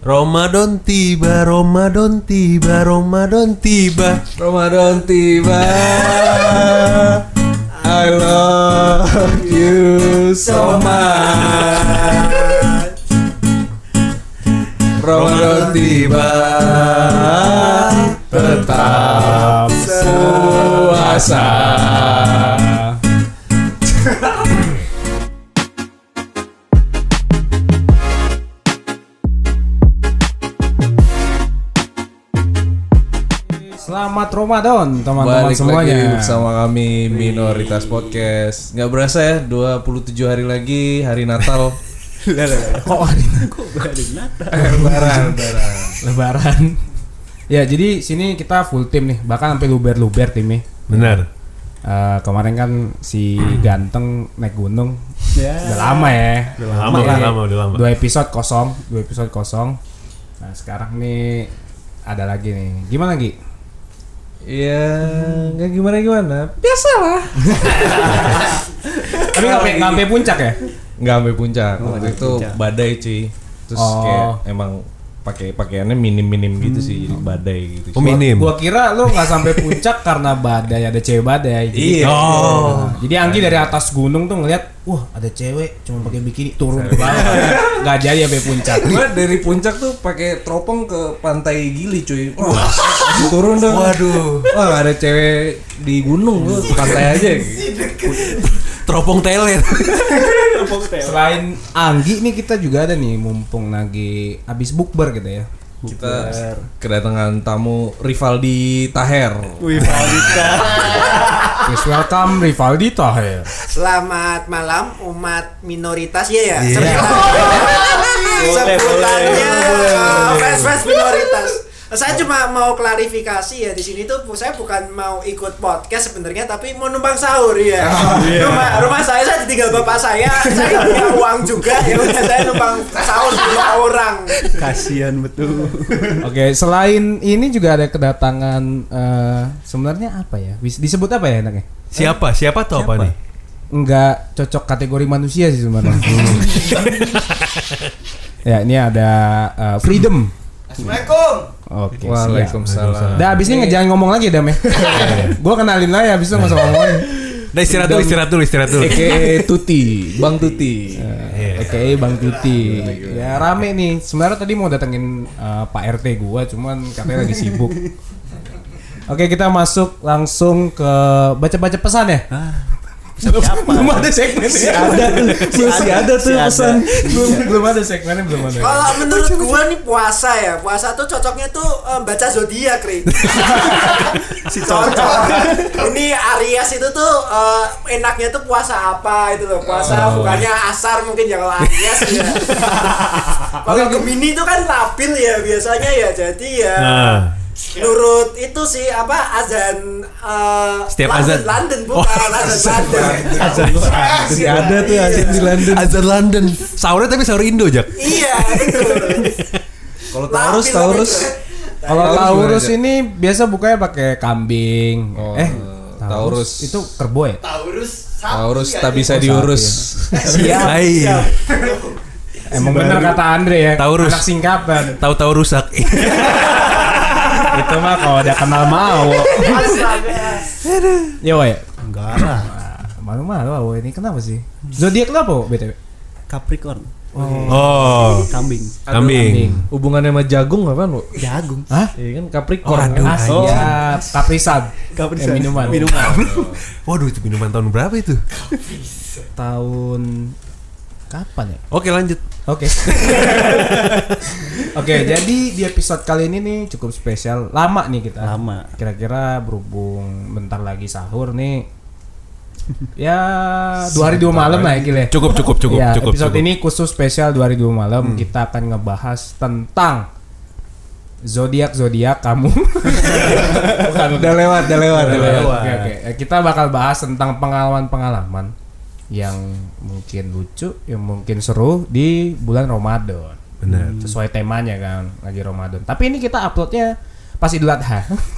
Ramadan tiba, Ramadan tiba, Ramadan tiba, Ramadan tiba. I love you so much. Ramadan tiba, tetap puasa. Selamat Ramadan teman-teman Balik semuanya. lagi bersama kami Minoritas Podcast. Nggak berasa ya 27 hari lagi hari Natal. Kok hari Natal? Lebaran. Ya jadi sini kita full tim nih, bahkan sampai luber timnya. benar. Kemarin kan si ganteng naik gunung. Udah lama ya. Udah lama. 2 episode kosong. Nah sekarang nih ada lagi nih. Gimana Gi? Ya nggak gimana. Biasalah. Tapi nggak sampai puncak ya? Nggak sampai puncak. Waktu itu badai cuy. Terus kayak emang pakai pakaiannya minim gitu sih, jadi badai gitu. Oh, minim. Gua kira lu nggak sampai puncak karena badai, ada cewek badai. Iya. Oh. Jadi Anggi dari atas gunung tuh ngeliat, wah ada cewek cuma pakai bikini turun ke bawah. Nggak jadi sampai puncak. Gua dari puncak tuh pakai teropong ke pantai Gili cuy. Wah, turun dong. Waduh. Wah, nggak ada cewek di gunung, gua ke pantai aja. Teropong teler. Selain Anggi nih kita juga ada nih, mumpung lagi abis bukber gitu ya. Kita kedatangan tamu Rivaldi Taher. Please welcome Rivaldi Taher. Selamat malam umat minoritas ya. Iya. Sebutannya fans minoritas. Saya cuma mau klarifikasi ya, di sini tuh saya bukan mau ikut podcast sebenarnya, tapi mau numpang sahur ya. Rumah saya ditinggal bapak saya nggak punya uang juga ya, udah saya numpang sahur di rumah orang. Kasian betul. Oke, selain ini juga ada kedatangan sebenarnya apa ya? Disebut apa ya enaknya? Siapa tuh apa nih? Enggak cocok kategori manusia sih sebenarnya. Ya, ini ada Freedom. Assalamualaikum. Oke, Waalaikumsalam. Udah abis ini jangan ngomong lagi Dam ya. Gua kenalin lah ya, abis itu nggak usah ngomong. Nah, istirahat dulu. Eke Tuti, Bang Tuti. Oke, Bang Tuti. Ya rame nih. Sebenarnya tadi mau datengin Pak RT gua, cuman katanya lagi sibuk. Oke, kita masuk langsung ke baca-baca pesan ya. Belum ada segmen masih ada tuh pesan. Belum ada segmennya, belum ada. Kalau menurut gua nih puasa tuh cocoknya tuh baca zodiak, Ri. Cocok. Ini Aries itu tuh enaknya tuh puasa apa itu loh. Puasa bukannya asar mungkin ya kalau Aries ya. Kalau Gemini itu kan labil ya biasanya ya, jadi ya. Menurut itu sih azan Setiap azan London bukan azan London. Masih ada tuh azan di London. Azan London. Sahurnya tapi sahur Indo, Jak. Iya betul. Kalau Taurus. Kalau Taurus ini biasa bukanya pakai kambing. Taurus itu kerbau ya? Taurus tak bisa diurus. Siap. Emang benar kata Andre ya. Taurus. Anak singkatan. Tahu-tahu rusak. Itu mah kalau udah kenal mau. Ya woy. Enggak lah. Malu-malu woy, ini kenapa sih? Zodiak lu apa BTW? Capricorn. Oh, Kambing. kambing. Hubungannya sama jagung apaan, Bu? Jagung. Hah? Iya kan Capricorn. Waduh. kan? Siap. Kaprisan. Minuman. Waduh, itu minuman tahun berapa itu? Tahun kapan ya? Oke, lanjut. Oke. Oke, jadi di episode kali ini nih cukup spesial. Lama nih kita. Lama. Kira-kira berhubung bentar lagi sahur nih. Ya 2 hari 2 malam lah ya Gil ya. Cukup. Ya, episode ini khusus spesial 2 hari 2 malam. Kita akan ngebahas tentang zodiak kamu. Bukan. Udah lewat. Oke. Kita bakal bahas tentang pengalaman yang mungkin lucu, yang mungkin seru di bulan Ramadan. Benar. Sesuai temanya kan, lagi Ramadan. Tapi ini kita uploadnya pas Idul Adha.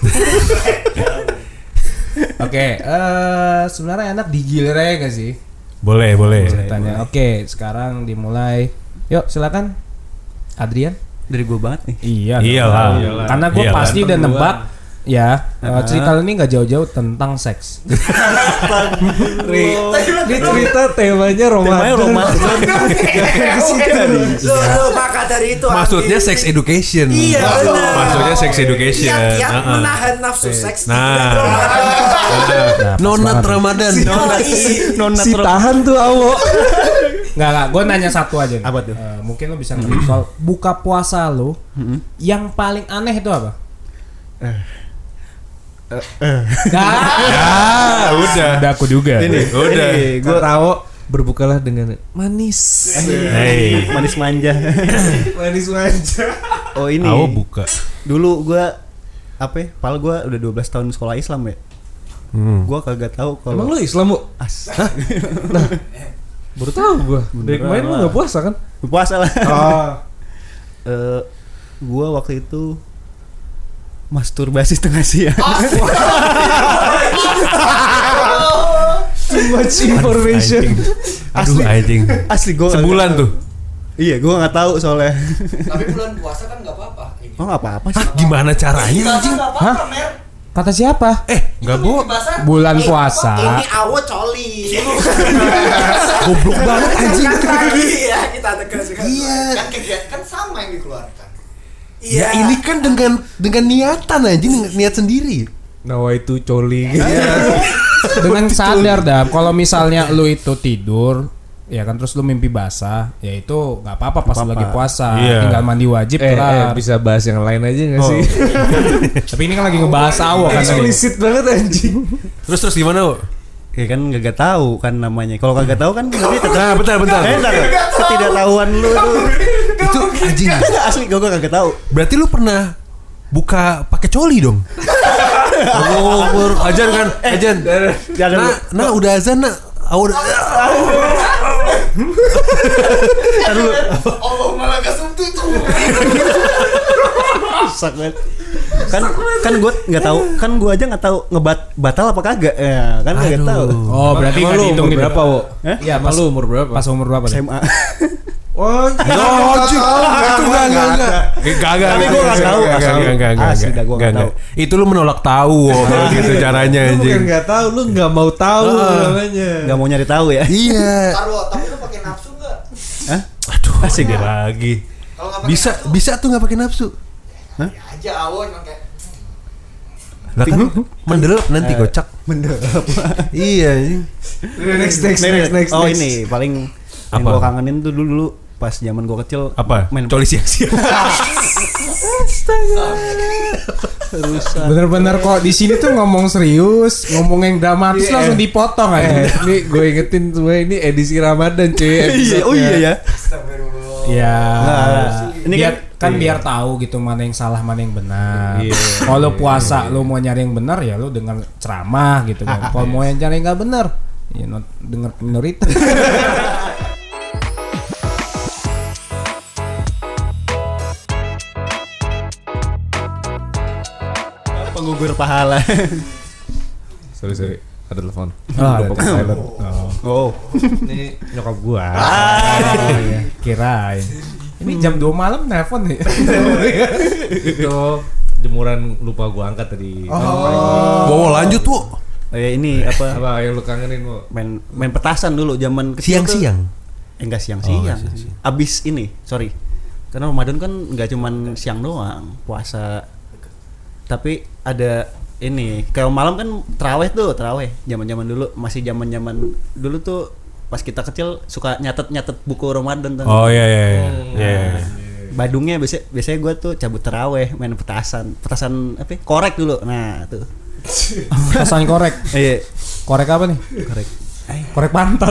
Oke, sebenarnya enak digilirnya gak sih? Boleh. Ceritanya. Oke, sekarang dimulai. Yuk, silakan. Adrian. Dari gue banget nih. Iya. Iyalah. Iyalah. Karena gue Iyalah. pasti udah nebak. Ya, cerita ini nggak jauh-jauh tentang seks. Ini cerita temanya Ramadan. Maka dari itu Maksudnya sex education. Iya, benar. Maksudnya sex education. Kiat Heeh. menahan nafsu seks. Nonat Ramadan. Si tahan tuh awo. Nggak, gue nanya satu aja nih. Apa tuh? Mungkin lo bisa ngerti soal buka puasa lo yang paling aneh itu apa? Udah aku juga. Udah. Gue tahu berbukalah dengan manis. Hey. Manis manja. Manis manja. Oh ini. Awo buka. Dulu gue padahal gue udah 12 tahun sekolah Islam ya. Gue kagak tahu kalau Emang lu Islam, Bu? Baru tahu gue. Dari kemarin lu nggak puasa kan? puasa lah. Oh. Gue waktu itu masturbasi tengah siang. Too much information. Aduh anjing. Asli gue Sebulan tuh. Iya, gue nggak tahu soalnya. Tapi bulan puasa kan nggak apa-apa. Oh nggak apa-apa sih. Hah, gimana caranya anjing? Nggak apa-apa, Mer. Kata siapa? Enggak bu. Bulan puasa. Ini awo coli. Goblok banget anjing. Lagi ya kita tegaskan. Iya. Kan kegiatan kan sama yang dikeluarkan. Ya ini kan dengan niatan anjing, niat sendiri. Nawa itu coli. Dengan sadar dah kalau misalnya lu itu tidur ya kan terus lu mimpi basah ya itu nggak apa-apa pas lu lagi puasa. Iya. Tinggal mandi wajib kelar. Bisa bahas yang lain aja nggak sih? Tapi ini kan lagi ngebahas awo kan tadi. Eksplisit banget anjing. Terus gimana bu? Ya kan nggak tahu kan namanya. Kalau kagak tahu kan berarti tetap. Nah bentar. Ketidaktahuan lu tuh. Itu anjing. Asli gue kagak tahu. Berarti lu pernah buka pakai coli dong? Ajan kan? Ajan. Jangan. Nah udah azan nak. Allah malah kasum tutup. Rusak banget. Kan gue nggak tahu. Kan gue aja nggak tahu batal apa kagak. Ya kan nggak tahu. Oh berarti nggak dihitung nih berapa, Wo? Iya pas Lu umur berapa? Pas umur berapa? deh? SMA. Oh, Itu enggak. Tapi gua nggak tahu. Asli dah gua nggak tahu. Itu lu menolak tahu kalau gitu caranya Lu bukan anjing. nggak tahu, lu nggak mau tahu namanya. Nggak mau nyari tahu ya. Iya. Taruh, tapi lu pakai nafsu nggak? Hah? Aduh, Asik dia ya? lagi. Kalau nggak pakai nafsu, Bisa tuh nggak pakai nafsu. ya aja awon pakai. Lah kan mendelep nanti kocak. Mendelep. Iya anjing. Next. Oh ini paling yang Apa? gue kangenin tuh dulu pas zaman gue kecil. Apa? Main Coli siang-siang. Bener-bener kok di sini tuh ngomong serius, ngomong yang dramatis langsung dipotong aja. Nih gue ingetin semua ini edisi Ramadan cuy. Iya, oh iya ya. Astagfirullah. Ya. Ini Kan biar tahu gitu mana yang salah mana yang benar. Iya. Kalau puasa lu mau nyari yang benar ya lu dengar ceramah gitu kan. Kalau mau yang nyari yang nggak benar ya denger minoritas. Penggugur pahala. Sorry. Ada telepon. Ada silent. Oh. Ini nyokap gua. Oh iya. Kirain. Ini jam 2 malam nelpon nih. Itu jemuran lupa gua angkat tadi. Bawa lanjut tuh. Ini apa? Apa yang lu kangenin, Wo? Main petasan dulu zaman kecil. Siang-siang. Enggak siang-siang. siang-siang. Abis ini, sorry. Karena Ramadan kan enggak cuman siang doang, puasa. Tapi ada ini, kayak malam kan terawih. Zaman-zaman dulu, masih zaman-zaman dulu tuh pas kita kecil suka nyatet buku Ramadan tuh. Oh iya. Badungnya biasanya gue tuh cabut terawih, main petasan apa? Korek dulu. Nah, tuh. Pesan korek. Iya, Korek apa nih? korek. Korek pantat.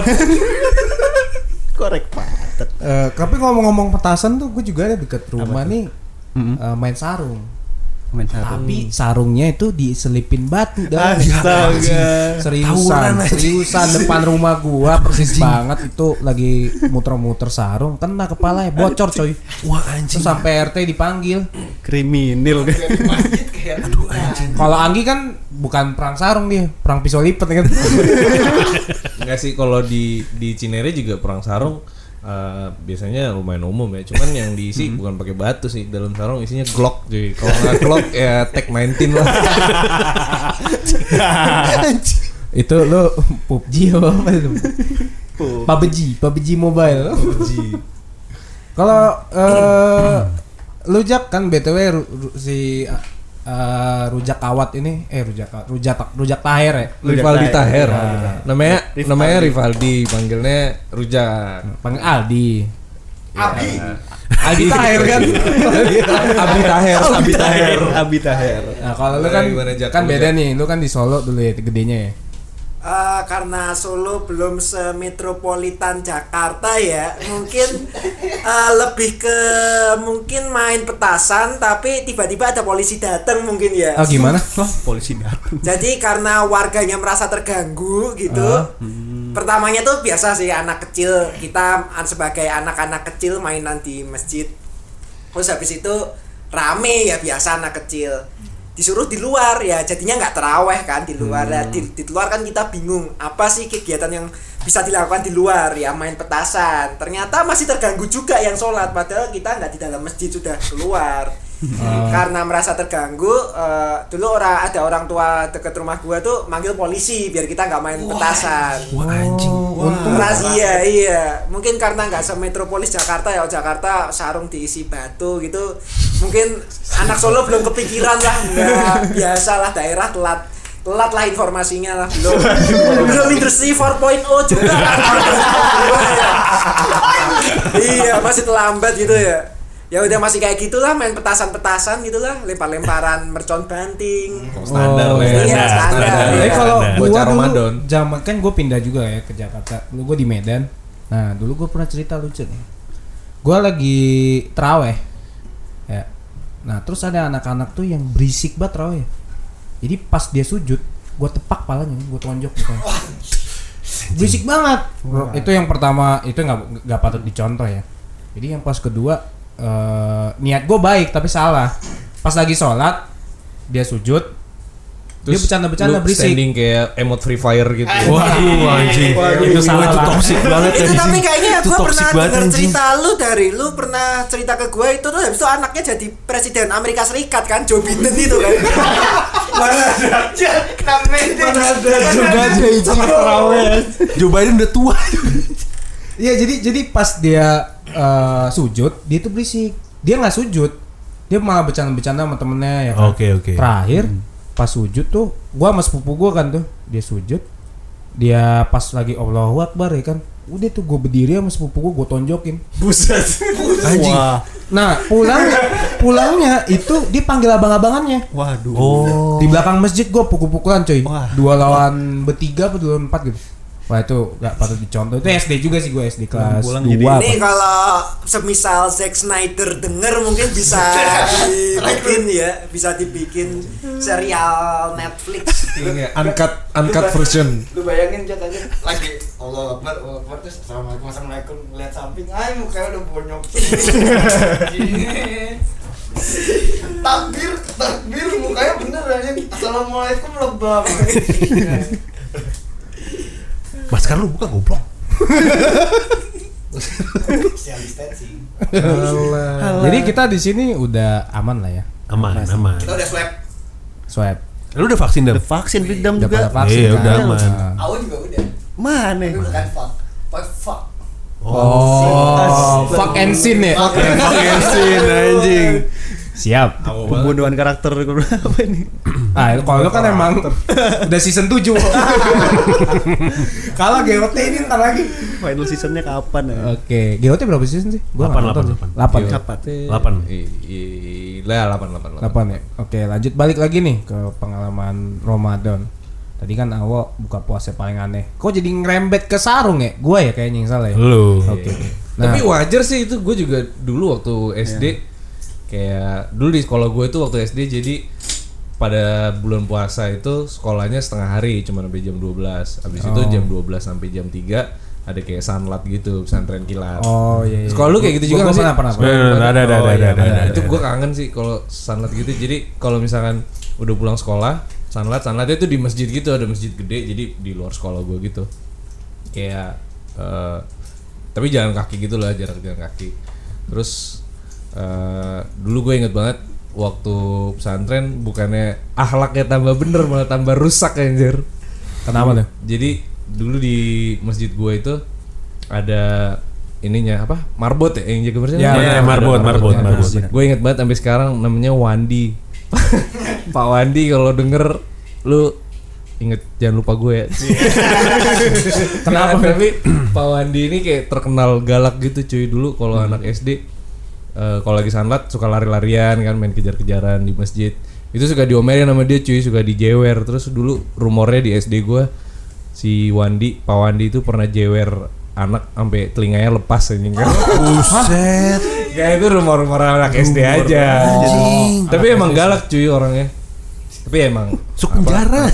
Korek patet. Tapi ngomong-ngomong petasan tuh gue juga ada deket rumah nih main sarung. Main sarung. Tapi sarungnya itu diselipin batu dah. Astaga. Seriusan depan rumah gua persis banget itu lagi muter-muter sarung kena kepalanya bocor coy. Wah anjing. Terus sampai RT dipanggil. Kriminal kan. Aduh anjing. Kalau Anggi kan bukan perang sarung dia, perang pisau lipat kan. Enggak sih, kalau di Cinere juga perang sarung biasanya lumayan umum ya. Cuman yang diisi bukan pakai batu sih. Dalam sarung isinya Glock cuy. Kalau nggak Glock ya Tag 19 lah. Itu lo PUBG apa itu? PUBG Mobile. Kalau lu Jak kan BTW si Rujak Kawat ini Rujak Taher ya. Rivaldi Taher. Namanya Rivaldi, panggilnya Rujak. Panggil Aldi. Abi Taher kan. Abi Taher. Nah, kalau lu kan beda nih, lu kan di Solo dulu ya gedenya ya. Karena Solo belum semetropolitan Jakarta ya, mungkin lebih ke mungkin main petasan tapi tiba-tiba ada polisi datang mungkin ya. Oh gimana? Polisi datang. Jadi karena warganya merasa terganggu gitu. Pertamanya tuh biasa sih anak kecil, kita sebagai anak-anak kecil mainan di masjid. Terus habis itu rame ya biasa anak kecil. Disuruh di luar ya jadinya nggak terawih kan di luar. Di luar kan kita bingung apa sih kegiatan yang bisa dilakukan di luar ya, main petasan. Ternyata masih terganggu juga yang sholat padahal kita nggak di dalam masjid, sudah keluar. Karena merasa terganggu, dulu ada orang tua deket rumah gua tuh manggil polisi biar kita nggak main petasan. Wah anjing. Untung Razia iya. Mungkin karena nggak semetropolis Jakarta ya, Jakarta sarung diisi batu gitu. Mungkin anak Solo belum kepikiran lah, nggak biasalah daerah telat lah informasinya lah, belum industri 4.0 juga. Iya masih terlambat gitu ya. Ya udah masih kayak gitulah, main petasan-petasan gitulah, lempar-lemparan mercon banting. Standar lah ya. Iya, standar. Tapi kalau Bocah gua dulu Ramadan. zaman kan gue pindah juga ya ke Jakarta. Dulu gue di Medan. Nah, dulu gue pernah cerita lucu nih. Gue lagi terawih. Ya. Nah, terus ada anak-anak tuh yang berisik banget terawih. Jadi pas dia sujud, gue tepak palanya, gue tonjok mukanya. Berisik banget. Itu yang pertama, itu nggak patut dicontoh ya. Jadi yang pas kedua, niat gue baik tapi salah. Pas lagi sholat dia sujud, dia bercanda-bercanda berisik. Standing kayak emot Free Fire gitu. Waduh anjing. Itu salah. Itu toxic banget Itu anjing. tapi kayaknya Itu gue toxic pernah banget, dengar anjing. cerita lu pernah cerita ke gue itu tuh habis itu anaknya jadi presiden Amerika Serikat kan, Joe Biden itu kan. Mana ada juga aja itu Joe Biden udah tua. Iya, jadi pas dia sujud, dia tuh berisik. Dia nggak sujud, dia malah bercanda-bercanda sama temennya ya kan. Oke. Terakhir pas sujud tuh, gua sama sepupu gua kan tuh, dia sujud, dia pas lagi Allahu Akbar ya kan, udah tuh gua berdiri sama sepupu gua tonjokin. Buset. Anjing. Wah. Nah pulangnya itu dia panggil abang-abangannya. Waduh. Oh. Di belakang masjid gua pukul-pukulan coy. Wah. 2 lawan 3 apa 2 lawan 4 gitu. Wah itu gak patut dicontoh. Itu SD juga sih, gue SD kelas Pulang 2 jadi- apa. Ini kalau semisal Zack Snyder denger mungkin bisa dibikin serial Netflix. Uncut version. Lu bayangin aja lagi Allah Akbar terus assalamualaikum lihat samping, ay mukanya udah bonyok. Takbir mukanya bener aja. Assalamualaikum lebam. Masker lu buka goblok. Social distancing. Jadi kita di sini udah aman lah ya. Aman. Kita udah Swab. Lu udah vaksin dah? Udah vaksin Bigdam Udah pada juga. vaksin Iya, kan? udah aman. Nah. Aku juga udah. Mana? Tapi bukan fuck. Oh, fuck and sin ya. Vaksin anjing. Siap. Pembunuhan karakter apa ini? Ah, kalau lu kan emang udah season 7. Kalau GOT ini ntar lagi. Final seasonnya kapan ya? Oke, GOT berapa season sih? Gua 8. 8 ya. 8. Lah 8. 8 ya. Oke, lanjut balik lagi nih ke pengalaman Ramadan. Tadi kan Awo buka puasa paling aneh. Kok jadi ngerembet ke sarung ya? Gua ya kayaknya yang salah ya. Lu. Oke. Nah, Tapi wajar sih itu, gue juga dulu waktu SD kayak dulu di sekolah gue itu waktu SD, jadi pada bulan puasa itu sekolahnya setengah hari cuma sampai jam 12. Habis itu jam 12 sampai jam 3 ada kayak sunlat gitu, pesantren kilat. oh iya. Sekolah lu kayak gitu juga nggak sih? Pernah. Ada. Itu gue kangen sih kalau sunlat gitu. Jadi kalau misalkan udah pulang sekolah, sunlatnya itu di masjid gitu, ada masjid gede, jadi di luar sekolah gue gitu. Kayak tapi jalan kaki gitu lah, jalan kaki. Terus dulu gue inget banget waktu pesantren bukannya akhlaknya tambah bener malah tambah rusak anjir. Kenapa tuh? Jadi dulu di masjid gue itu ada ininya apa? Marbot ya yang jaga bersih. Ya, marbot. Gue inget banget sampai sekarang namanya Wandi. Pak Wandi kalau denger lu inget jangan lupa gue ya. Kenapa? Tapi Pak Wandi ini kayak terkenal galak gitu cuy dulu kalau anak SD. Kalau lagi sanlat suka lari-larian kan, main kejar-kejaran di masjid. Itu suka diomelin sama dia cuy, suka dijewer. Terus dulu rumornya di SD gue si Wandi, Pak Wandi itu pernah jewer anak sampai telinganya lepas anjing kan. Buset. Ya itu rumor-rumor anak SD aja. Tapi emang galak cuy orangnya. Tapi emang Masuk penjara.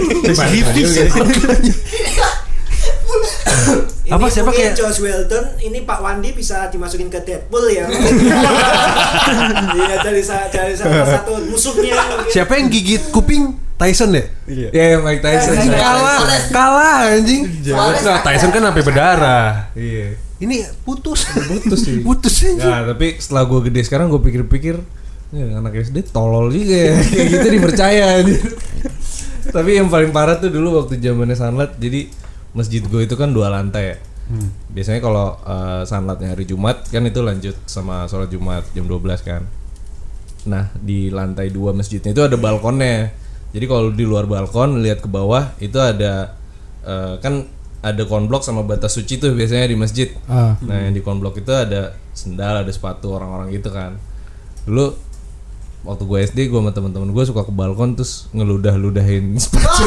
Ini siapa mungkin kayak Josh Whedon, ini Pak Wandi bisa dimasukin ke Deadpool ya. Iya, dari salah satu musuhnya. siapa yang gigit kuping Tyson ya? ya Mike Tyson. Anjing kalah anjing. Nah, Tyson kan sampai berdarah. Iya. Ini putus sih. putus anjing. Ya tapi setelah gue gede sekarang gue pikir-pikir ya, anak SD tolol juga ya. Kayak gitu dipercaya. Tapi yang paling parah tuh dulu waktu zamannya sanlat. Jadi masjid gue itu kan 2 lantai ya. Biasanya kalau sanlatnya hari Jumat kan itu lanjut sama sholat Jumat jam 12 kan. Nah di lantai 2 masjidnya itu ada balkonnya. Jadi kalau di luar balkon lihat ke bawah itu ada kan ada konblok sama batas suci tuh biasanya di masjid. Nah yang di konblok itu ada sendal, ada sepatu orang-orang gitu kan. Dulu waktu gue SD gue sama teman-teman gue suka ke balkon terus ngeludah-ludahin sepatu.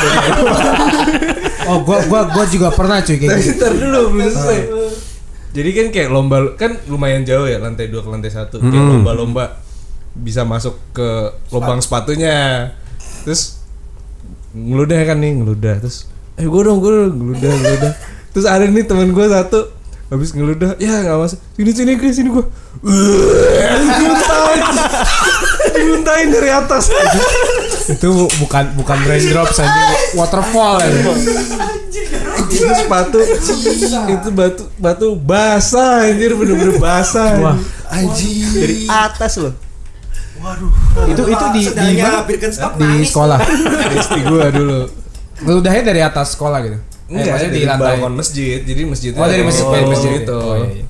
Oh, gua juga pernah cuy kayak gitu. Ntar dulu belum selesai. Jadi kan kayak lomba, kan lumayan jauh ya lantai 2 ke lantai 1. Kayak lomba-lomba bisa masuk ke lubang sepatunya. Terus ngeludah kan nih, ngeludah. Terus gue dong ngeludah. Terus ada nih teman gue satu habis ngeludah, ya nggak masuk. Sini gue. Dimuntahin dari atas. Itu bukan raindrops anjing, waterfall ya. Itu sepatu itu batu basah anjir, bener-bener basah. Wah, Anjing. Dari atas loh. itu di Sendalnya Birkenstock di nangis. sekolah. SD gua dulu. Ngeludahnya dari atas sekolah gitu. Enggak, maksudnya di balkon masjid. Jadi masjidnya. Oh, dari masjid itu. Oh, iya.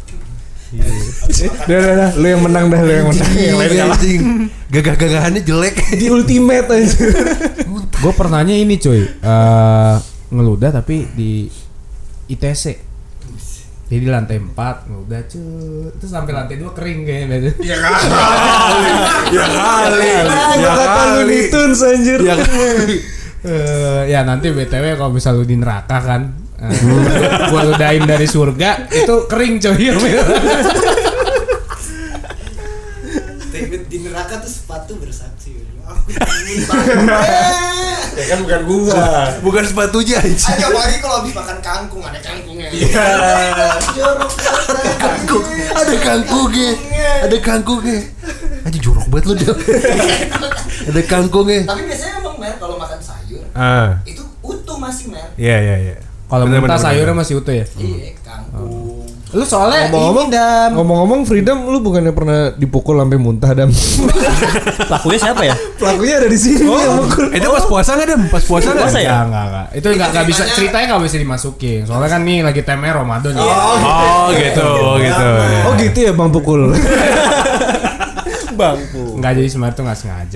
Dah, lu yang menang dah, lu yang menang. Yang lain kalah. Anjing. Gagah-gagahannya jelek. Di ultimate aja. Gue pernahnya ini cuy, ngeludah tapi di ITC. Jadi di lantai 4 ngeludah cuy. Terus sampai lantai 2 kering kayaknya. Ya kali. Itu anjir. Ya nanti BTW kalau misal lu di neraka kan, gua ludahin dari surga itu kering coy. Di neraka tuh sepatu bersaksi. Ya kan bukan gua. Bukan sepatunya anjing. Ayo apalagi kalau habis makan kangkung, ada kangkungnya. Ada kangkungnya. Anjing jorok banget lu dia. Ada kangkungnya. Tapi biasanya emang Mer kalau makan sayur itu utuh masih Mer. Iya. Kalau Bener, mentah bener, sayurnya masih utuh ya. Iya, kangkung. Lu soalnya Ngomong-ngomong Freedom, lu bukannya pernah dipukul sampai muntah Dam? Pelakunya siapa ya? Pelakunya ada di sini yang mukul. Itu pas puasa enggak, Dem? Pas puasa enggak? Puasa ya? Enggak. Itu enggak bisa, ceritanya enggak bisa dimasukin. Soalnya kan nih lagi temanya Ramadan ya. Oh gitu. Oh gitu ya Bang pukul. Bangku. Enggak, jadi sebenarnya tuh enggak sengaja.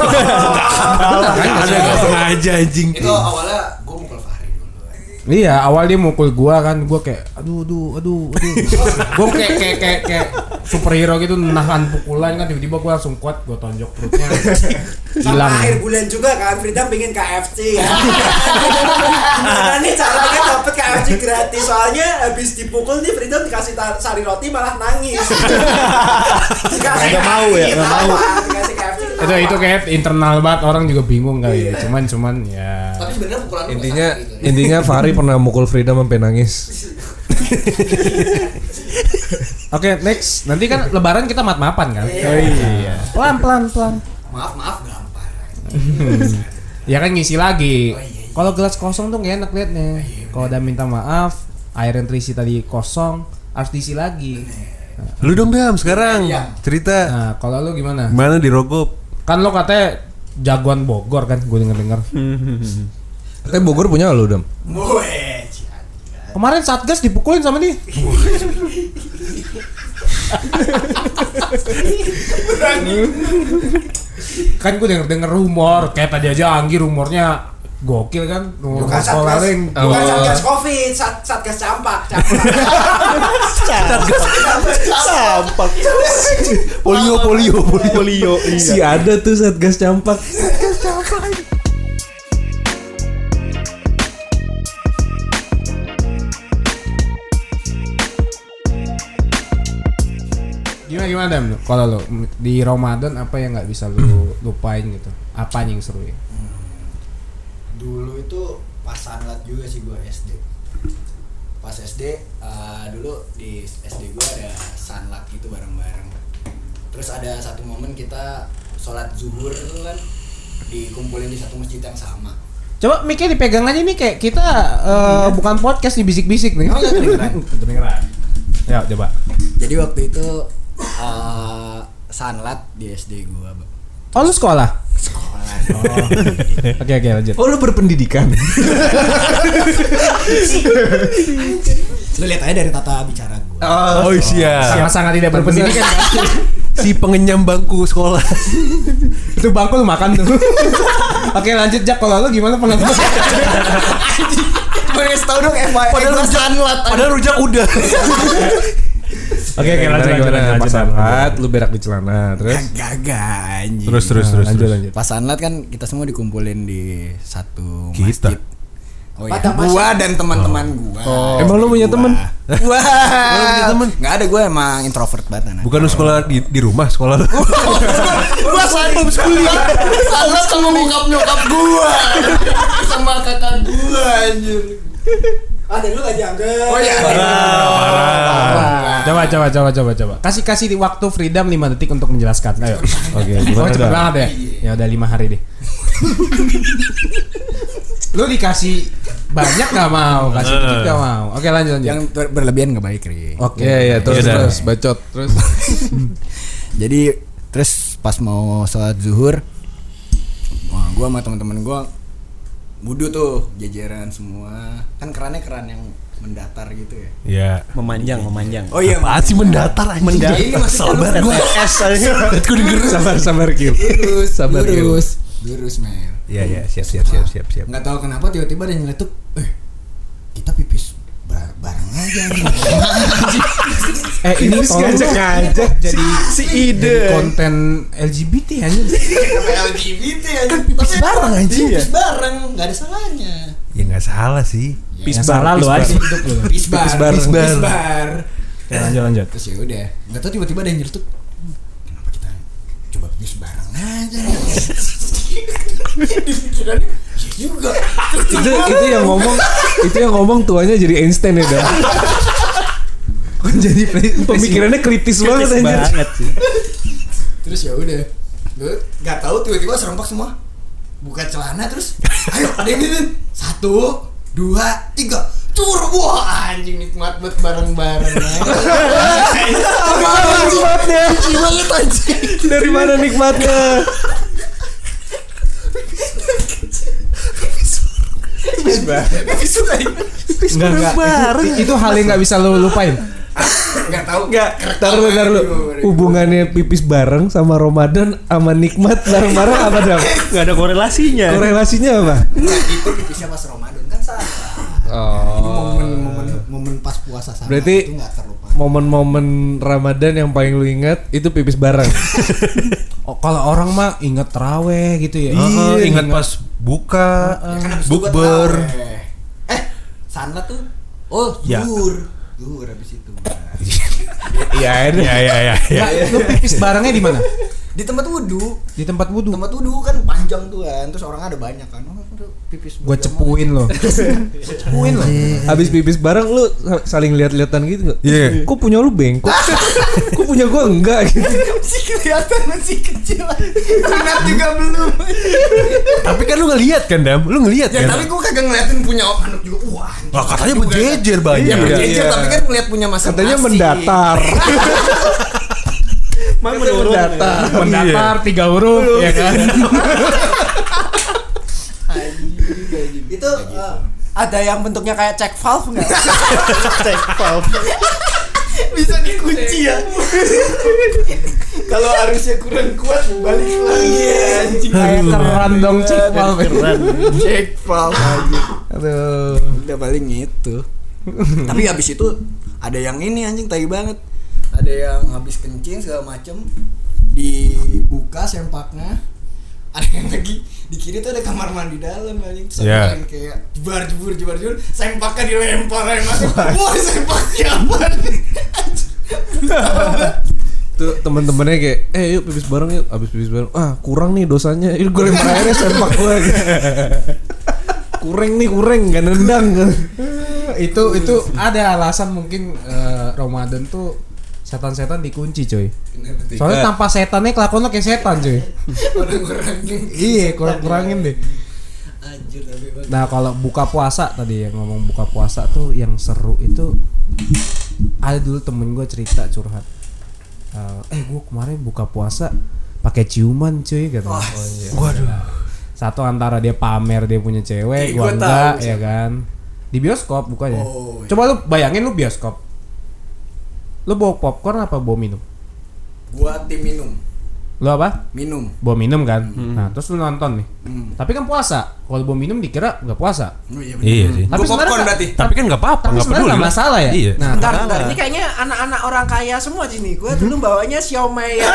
Enggak sengaja anjing. Itu awalnya gue mukul Fahri dulu. Iya, awal dia mukul gua kan, gua kayak aduh. Gua kayak superhero gitu nahan pukulan kan, tiba-tiba gua langsung kuat, gua tonjok perutnya. Sama Hilang. akhir bulan juga kan, Frida pengen KFC ya. Gimana nih caranya dapet KFC gratis? Soalnya habis dipukul nih Frida dikasih sari roti malah nangis. Dikasih Nggak mau ya, nggak mau. Dikasih KFC Itu kayak internal banget, orang juga bingung kali ya. Cuman ya. Tapi sebenarnya pukulan lu Intinya nggak sakit, gitu. intinya Fahri pernah mukul Freedom sampai nangis. Oke, next. Nanti kan lebaran kita mat-mapan kan? Iya. Pelan. Maaf gampar. Ya kan ngisi lagi. Kalau gelas kosong tuh gak enak liatnya. Kalau udah minta maaf, air yang terisi tadi kosong, harus diisi lagi. Lu dong Dam sekarang cerita. Nah, kalau lu gimana? Mana di Rogop? Kan lo katanya jagoan Bogor kan, gue denger. Tapi Bogor punya lu, Dam? Woi, Kemarin Satgas dipukulin sama dia. Kan gue denger rumor, kayak tadi aja Anggi rumornya gokil kan, rumor bukan sekolah satgas, lain. bukan satgas covid, satgas campak. Polio. Si ada tuh Satgas Campak. Gimana Dam? Kalau lo di Ramadan apa yang nggak bisa lu lupain gitu? Apa yang seru ya? Dulu itu pas sanlat juga sih gue SD. Pas SD dulu di SD gue ada sanlat gitu bareng-bareng. Terus ada satu momen kita sholat zuhur kan dikumpulin di satu masjid yang sama. Coba mic-nya dipegang aja nih kayak kita bukan podcast nih bisik-bisik nih. Oh nggak kedengeran. Kedengeran. Ya coba. Jadi waktu itu sanlat di SD gue. Oh lu sekolah? Oke lanjut. Oh lu berpendidikan. Lu lihat aja dari tata bicara gue. Oh iya. Sangat tidak berpendidikan. Si pengenyam bangku sekolah. Itu bangku lu makan tuh. Oke lanjut Jak, kalau lu gimana pengalaman? Pengen tahu dong padahal rujak udah. Oke lanjut. Pas sanlat lu berak di celana, terus Gagah anjing. Terus. Lanjut. Pas sanlat kan kita semua dikumpulin di satu Kita? masjid. Oh iya, gua dan teman-teman gua. Emang lu punya temen? Wah. Lu punya temen? Enggak ada, gua emang introvert banget anak. Bukan lu sekolah di rumah sekolah lu. Gua satu kuliah. Sanlat sama nyokap gua. Sama kakak gua anjir. Ada lu gak dianggap. Oh iya. Coba. Kasih di waktu freedom 5 detik untuk menjelaskan. Ayo. Oke, Oh gimana cepet Dam? banget ya? Ya udah 5 hari deh. Lu dikasih banyak gak mau, kasih dikit gak mau. Oke lanjut. Yang berlebihan enggak baik, Ri. Oke. Ya terus Yaudah. terus bacot terus. Jadi terus pas mau sholat zuhur, gua sama teman-teman gua wudu tuh jajaran semua. Kan keran yang mendatar gitu ya. Iya. Memanjang. Oh iya, Apaan sih mendatar anjing? ini masih Sabar gua. Gue denger. Sabar Kil. Sabar Kil. lurus men. Iya, siap. Nggak tahu kenapa tiba-tiba ada yang nyeletuk, kita pipis bareng aja nih. Ini tolong ngajak jadi si ide. konten LGBT anjir. LGBT aja. Kan pipis bareng anjing. Pipis bareng, nggak ada salahnya. Ya enggak salah sih. Yang salah lu aja hidup lu. Pipis bar. Lanjut. Terus ya udah, nggak tahu tiba-tiba ada yang nyeletuk, kenapa kita coba pipis bareng aja nih. Pikirannya juga. itu yang ngomong tuanya jadi Einstein ya Dam. Jadi Pemikirannya kritis banget anjir. Terus ya udah, gue nggak tahu tiba-tiba serempak semua buka celana terus, ayo ada yang ini 1, 2, 3 cur, wah anjing nikmat banget bareng-bareng. Nikmatnya. Banget anjing. Dari mana nikmatnya? Enggak. Itu hal yang nggak bisa lu lupain. Nggak tahu. Ntar lu. Hubungannya pipis bareng sama Ramadan sama nikmat bareng-bareng apa Dam? Nggak ada korelasinya. Korelasinya apa? Nah, itu pipisnya pas Ramadan kan salah. Oh. Momen pas puasa sama Berarti itu nggak terlupa. momen-momen Ramadan yang paling lu ingat itu pipis bareng. Oh, kalau orang mah inget terawih gitu ya. Ingat pas buka, Kan habis itu gua bukber. taraweh. Sanlat tuh. Oh, Ya. zuhur habis itu. Iya, Ya. Nah, lu pipis barengnya di mana? Di tempat wudu. Di tempat wudu. Tempat wudu kan panjang tuh kan. Terus orang ada banyak kan. Oh, pipis. Gua cepuin lo. Cepuin lo. Habis pipis bareng lu saling lihat-lihatan gitu nggak? Iya. Kok punya lu bengkok? Kok punya gua enggak gitu? Masih kelihatan masih kecil. Sunat juga belum. Tapi kan lu ngelihat kan Dam? Lu ngelihat Ya kan? tapi gua kagak ngeliatin punya anak juga. Wah, Wah, katanya berjejer Iya, banyak. berjejer tapi kan ngeliat punya masing-masing. Katanya mendatar. Mendatar 3 huruf ya kan. Itu ada yang bentuknya kayak check valve nggak? Cek valve. Bisa dikunci ya. Kalau arusnya kurang kuat balik lagi anjing. Kayak keren dong cek valve. Keren. Cek valve anjing. Aduh. Udah paling itu. Tapi habis itu ada yang ini anjing tai banget. Ada yang habis kencing segala macem dibuka sempaknya. Ada yang lagi di kiri tuh ada kamar mandi dalam anjing. Terus Yeah. ada yang kayak jebur, sempaknya dilempar aja masuk. Wah, sempaknya apa nih? Tuh temen-temennya kayak yuk pipis bareng yuk. Abis pipis bareng, kurang nih dosanya. Ini gue lempar airnya sempak gue. kurang gak nendang. Itu ada alasan mungkin Ramadan tuh setan-setan dikunci coy. Soalnya tanpa setannya kelakuan lo kayak setan coy. Kurang-kurangin. Iya kurangin deh. Anjir tapi bang. Nah kalau buka puasa tadi yang ngomong buka puasa tuh yang seru itu ada dulu temen gue cerita curhat. Gue kemarin buka puasa pakai ciuman cuy gitu. Waduh. Satu antara dia pamer dia punya cewek, gua Gua enggak tahu, ya kan. Di bioskop bukanya. Oh, iya. Coba lu bayangin lu bioskop. Lu bawa popcorn apa bawa minum? Gua tim minum. Lu apa? Minum. Bawa minum kan. Nah, terus lu nonton nih. Tapi kan puasa. Kalau bawa minum dikira enggak puasa. Oh, iya Iya sih. Tapi Gua popcorn sebenarnya berarti. Tapi kan nggak apa-apa, Tapi nggak sebenarnya peduli. nggak masalah ya. Iya. Nah, Bentar, ini kayaknya anak-anak orang kaya semua di sini. Gue dulu bawanya Xiaomi ya.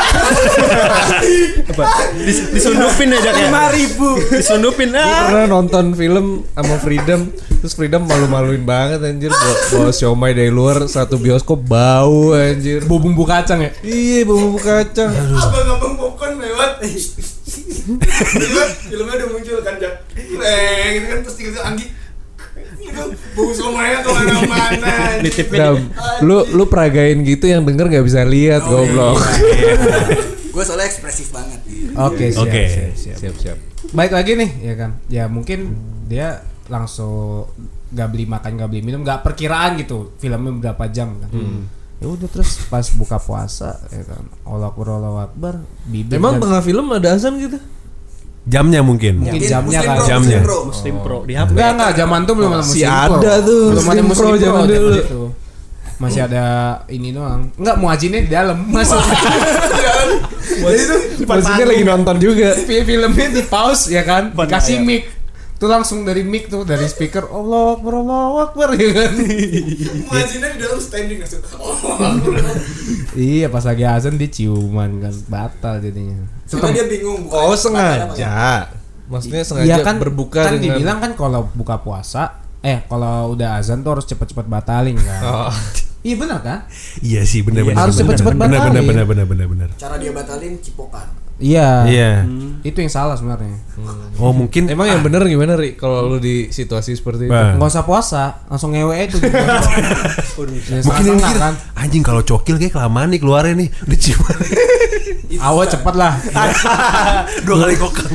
Disundupin aja kayak 5.000. disundupin Gue pernah nonton film sama Freedom. Terus Freedom malu-maluin banget anjir. Bawa siomay dari luar satu bioskop bau anjir. bau bumbu kacang ya. Iya bumbu kacang. Abang-abang popcorn lewat. Filmnya udah muncul kan Jak. Gitu kan terus tiba-tiba Anggi itu bau somanya tuh mana-mana. Dam, lu peragain gitu yang denger nggak bisa lihat goblok. Gue soalnya ekspresif banget. Oke, siap, Oke. Siap. Baik lagi nih ya kan. Ya mungkin dia langsung nggak beli makan, nggak beli minum, nggak perkiraan gitu filmnya berapa jam kan. Ya udah terus pas buka puasa ya kan. Allahu Akbar, bibir. Emang dan- tengah film ada azan gitu? Jamnya mungkin. Mungkin jamnya Muslim kan. Pro, Jamnya. Muslim Pro. Muslim Pro di HP. Enggak, zaman tuh belum ada Masih Muslim Pro. ada tuh Belum ada Muslim Pro zaman dulu. itu. Masih ada ini doang. Enggak, muazinnya di dalam. Masuk. Jadi tuh Maksudnya lagi nonton juga. filmnya di pause ya kan. Dikasih mic. Tuh langsung dari mic tuh dari speaker Allahu Akbar ya kan. Muazinnya di dalam standing langsung. Iya, pas lagi azan dia ciuman kan. Batal jadinya. Soalnya dia bingung. Oh sengaja. Maksudnya sengaja Iya kan berbuka kan dengan dibilang kan kalau buka puasa kalau udah azan tuh harus cepet-cepet batalin kan. Oh. Iya benar kan? Iya sih, benar-benar. Harus cepet-cepet batalin. Benar. Cara dia batalin cipokan. Iya. Iya. Itu yang salah sebenarnya. Oh mungkin. Emang yang bener gimana Ri? Kalau lu di situasi seperti itu? Bah. Nggak usah puasa, langsung ngewe itu. Ya, Mungkin yang salah mikir, kan. anjing kalau cokil kayak kelamaan nih keluarnya nih. Udah ciuman. Awas cepet lah. 2 kali kokang.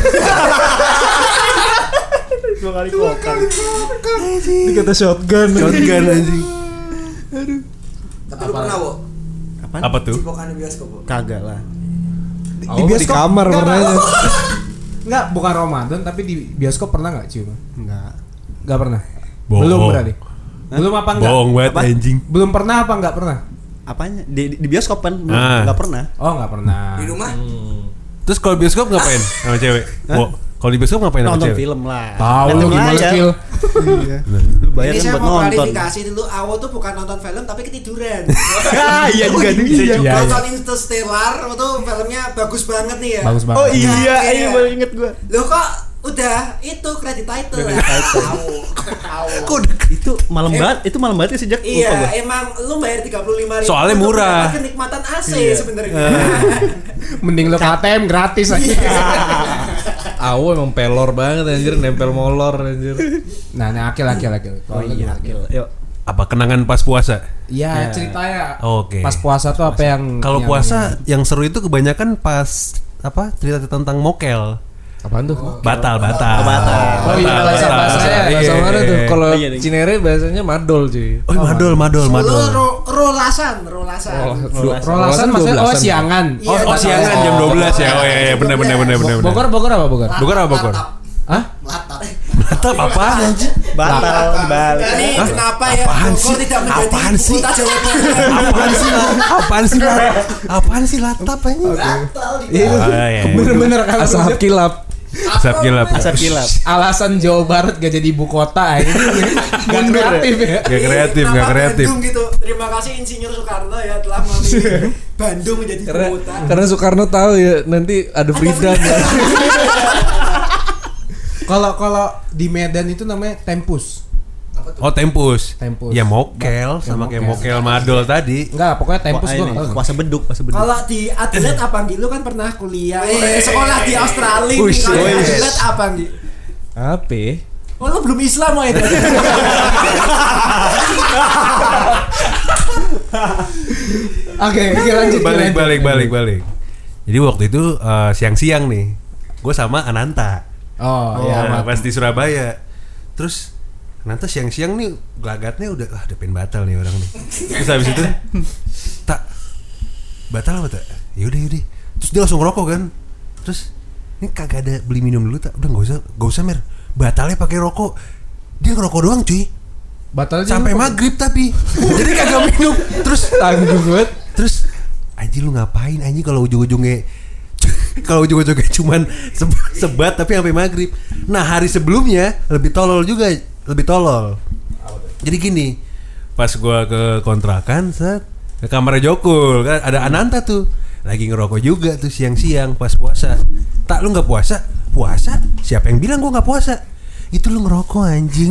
2 kali kokang. Dikata shotgun. Shotgun anjing. Tapi lu pernah, Wo? Apa tuh? Cipokan di bioskop, Wo? Kagak lah. Di kamar pernahnya. Enggak, bukan Ramadan tapi di bioskop pernah enggak cium? Enggak pernah. Bohong. Belum berarti. Belum apa enggak? Bohong banget Apa? anjing. Belum pernah apa enggak pernah? Apanya? Di bioskop kan? Ah. Enggak pernah. Oh, enggak pernah. Di rumah? Terus kalau bioskop ngapain sama cewek? Kalau di bioskop ngapain sama Nonton cewek? film lah. Tahu lu Dateng gimana aja. kill. Lu bayar Ini kan saya buat mau nonton. klarifikasi dulu. Awo tuh bukan nonton film tapi ketiduran. Iya juga bisa juga. Nonton Interstellar itu filmnya bagus banget nih ya. Bagus banget. Oh iya, Iya. iya baru inget gua. Loh kok udah itu credit title ya? Awo. Itu malam banget, itu malam banget ya sejak lupa Iya, gua. emang lu bayar 35.000 Soalnya untuk murah. mendapat kenikmatan AC sebenarnya. Mending lu KTM gratis aja. Awo emang pelor banget anjir, nempel molor anjir. Nah, akil. Oh iya, Akil. Yuk. Apa kenangan pas puasa? Iya, ceritanya. Oke. Pas puasa tuh apa yang Kalau yang- puasa yang seru itu kebanyakan pas apa cerita tentang mokel. Apaan tuh? Batal. Oh iya, bahasa-bahasanya. Bahasa mana tuh? Kalau Cinere bahasanya madol cuy. Oh, madol. Rolasan. Rolasan maksudnya siangan. Oh, siangan jam 12 ya. Oh iya, benar. Bogor apa Bogor? Bogor. Hah? Batal apaan anjir? Batal balik. Ini kenapa ya? Bogor tidak menjadi kota Jawa Barat? Apaan sih latap ini? Bener-bener kan Asap kilap. Asap kilap. alasan Jawa Barat gak jadi ibu kota ini gak kreatif ya. Gak kreatif. Bandung gitu. Terima kasih Insinyur Soekarno ya telah memilih Bandung menjadi kota. Karena Soekarno tahu ya nanti ada Frida. Kalau di Medan itu namanya tempus. Oh, tempus. Tempus. Ya mokel sama kayak mokel madol tadi. Enggak, pokoknya tempus gua enggak tahu. Puasa beduk. Kalau di Adelaide apa Nggi? Lu kan pernah kuliah sekolah di Australia. Uish, Kalau di uish. Adelaide apa Nggi? Apa? Oh lu belum Islam mau itu? Oke, lanjut. Balik. Jadi waktu itu siang-siang nih, gue sama Ananta. Oh, Nah, ya. pas di Surabaya. Terus Ananta siang-siang nih gelagatnya udah pengen batal nih orang nih. Terus habis itu tak batal apa tak? Yaudah. Terus dia langsung ngerokok kan. Terus ini kagak ada beli minum dulu tak? Udah gak usah Mer. Batalnya pakai rokok. Dia ngerokok doang cuy. Batalnya Sampai maghrib tapi. Jadi kagak minum. Terus tanggung banget. Terus anjing lu ngapain anjing kalau ujung-ujungnya cuman sebat tapi sampai maghrib. Nah hari sebelumnya lebih tolol. Jadi gini, pas gua ke kontrakan set ke kamarnya Jokul kan ada Ananta tuh lagi ngerokok juga tuh siang-siang pas puasa. Tak lu nggak puasa? Puasa? Siapa yang bilang gua nggak puasa? Itu lu ngerokok anjing.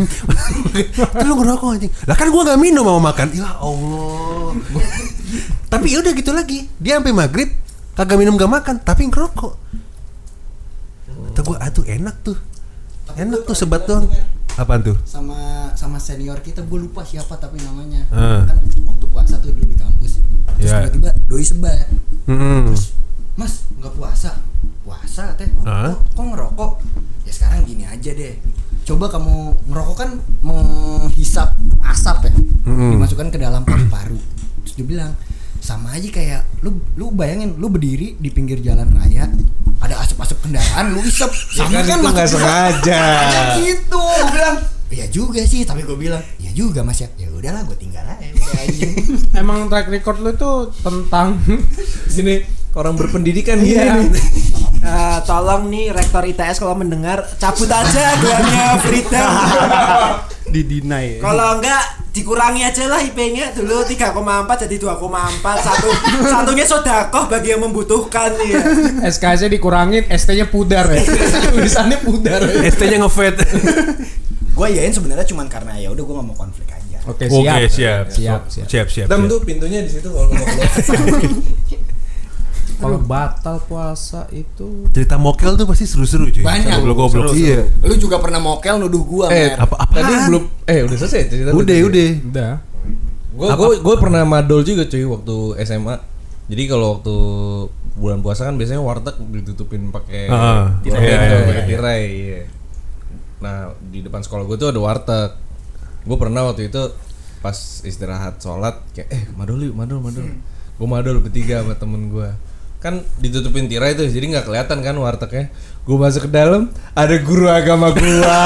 Lah kan gua nggak minum mau makan. Ya Allah. Tapi udah gitu lagi. Dia sampai maghrib kagak minum gak makan tapi ngerokok. Kata gua enak tuh. Enak tuh sebat doang. Apaan tuh? Sama senior kita, gue lupa siapa tapi namanya. Kan waktu puasa tuh dulu di kampus. Terus tiba-tiba doi sebat. Mas, nggak puasa? Puasa teh. Kok ngerokok? Ya sekarang gini aja deh. Coba kamu ngerokok kan menghisap asap ya. Dimasukkan ke dalam paru-paru. Terus dia bilang, sama aja kayak lu bayangin lu berdiri di pinggir jalan raya, ada asap-asap kendaraan, lu isep. Sama kan itu nggak sengaja. Gitu. Gue bilang, ya juga sih, tapi gue bilang, ya juga Mas ya. Ya udahlah, gue tinggal aja. Emang track record lu tuh tentang Sini orang berpendidikan gini. Tolong nih rektor ITS kalau mendengar cabut aja gelarnya Frida. Didinai. Kalau enggak dikurangi aja lah IP-nya dulu 3,4 jadi 2,4. Satunya sodakoh bagi yang membutuhkan ya. SKS-nya dikurangin, ST-nya pudar ya. Tulisannya pudar. ST-nya nge-fade. Gue yain sebenarnya cuman karena ya udah gue nggak mau konflik aja. Oke, Siap. Dam tuh pintunya di situ kalau mau keluar. Kalau batal puasa itu Cerita mokel tuh pasti seru-seru cuy. Banyak. Goblok-goblok. Iya. Lu juga pernah mokel nuduh gua, Mer. Tadi belum udah selesai cerita. udah. Gue pernah madol juga cuy waktu SMA. Jadi kalau waktu bulan puasa kan biasanya warteg ditutupin pakai tirai. Iya. Nah di depan sekolah gue tuh ada warteg. Gue pernah waktu itu pas istirahat sholat kayak madol. Gue madol bertiga sama temen gue. Kan ditutupin tirai tuh jadi nggak kelihatan kan wartegnya. Gue masuk ke dalam ada guru agama gua.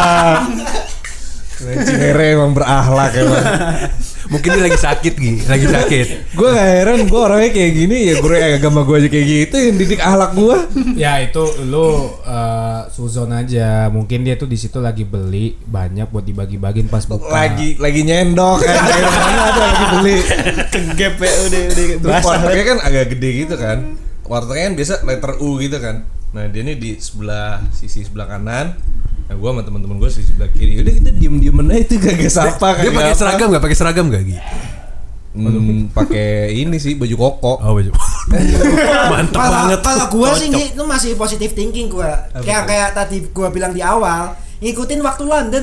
Cinere emang berakhlak emang. Mungkin dia lagi sakit Gue gak heran, gue orangnya kayak gini ya guru agama gue aja kayak gitu yang didik akhlak gue. Ya itu lu suzon aja. Mungkin dia tuh di situ lagi beli banyak buat dibagi-bagiin pas buka. Lagi nyendok kan. Mana ada lagi beli. Kegep ya udah. Terus wartegnya kan agak gede gitu kan. Wartegnya kan biasa letter U gitu kan. Nah dia nih di sisi sebelah kanan. Nah gue sama teman-teman gue di sebelah kiri. Udah kita diem-diem aja itu kagak sapa. Dia pakai seragam nggak gitu? Pakai ini sih baju koko. Oh baju. Mantap banget. Kalau gue sih itu masih positive thinking gue. Kayak tadi gue bilang di awal, ngikutin waktu London.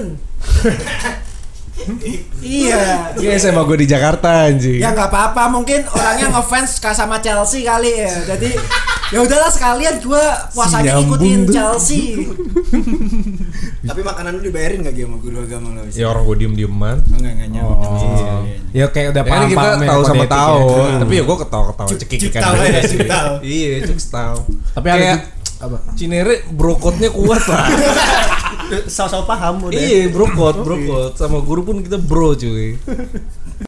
Iya. Iya SMA gue di Jakarta anjing. Ya nggak apa-apa, mungkin orangnya ngefans sama Chelsea kali ya. Jadi Ya udahlah sekalian gua puasanya ngikutin Chelsea. Tapi makanan lu dibayarin gak sama guru agama lo? Ya orang gue diem-dieman. Enggak nyaman. Oh. Ya kayak udah Ya kan kita paham-paham ya tahu sama kode etik tahu, ya. tapi ya gue ketawa-ketawa cekikikan tahu ya, cuk tahu. Iya, cuk tahu. Tapi ada Kayak apa? Cinere brokotnya kuat lah. Sama-sama paham udah. Iya, brokot sama guru pun kita bro cuy.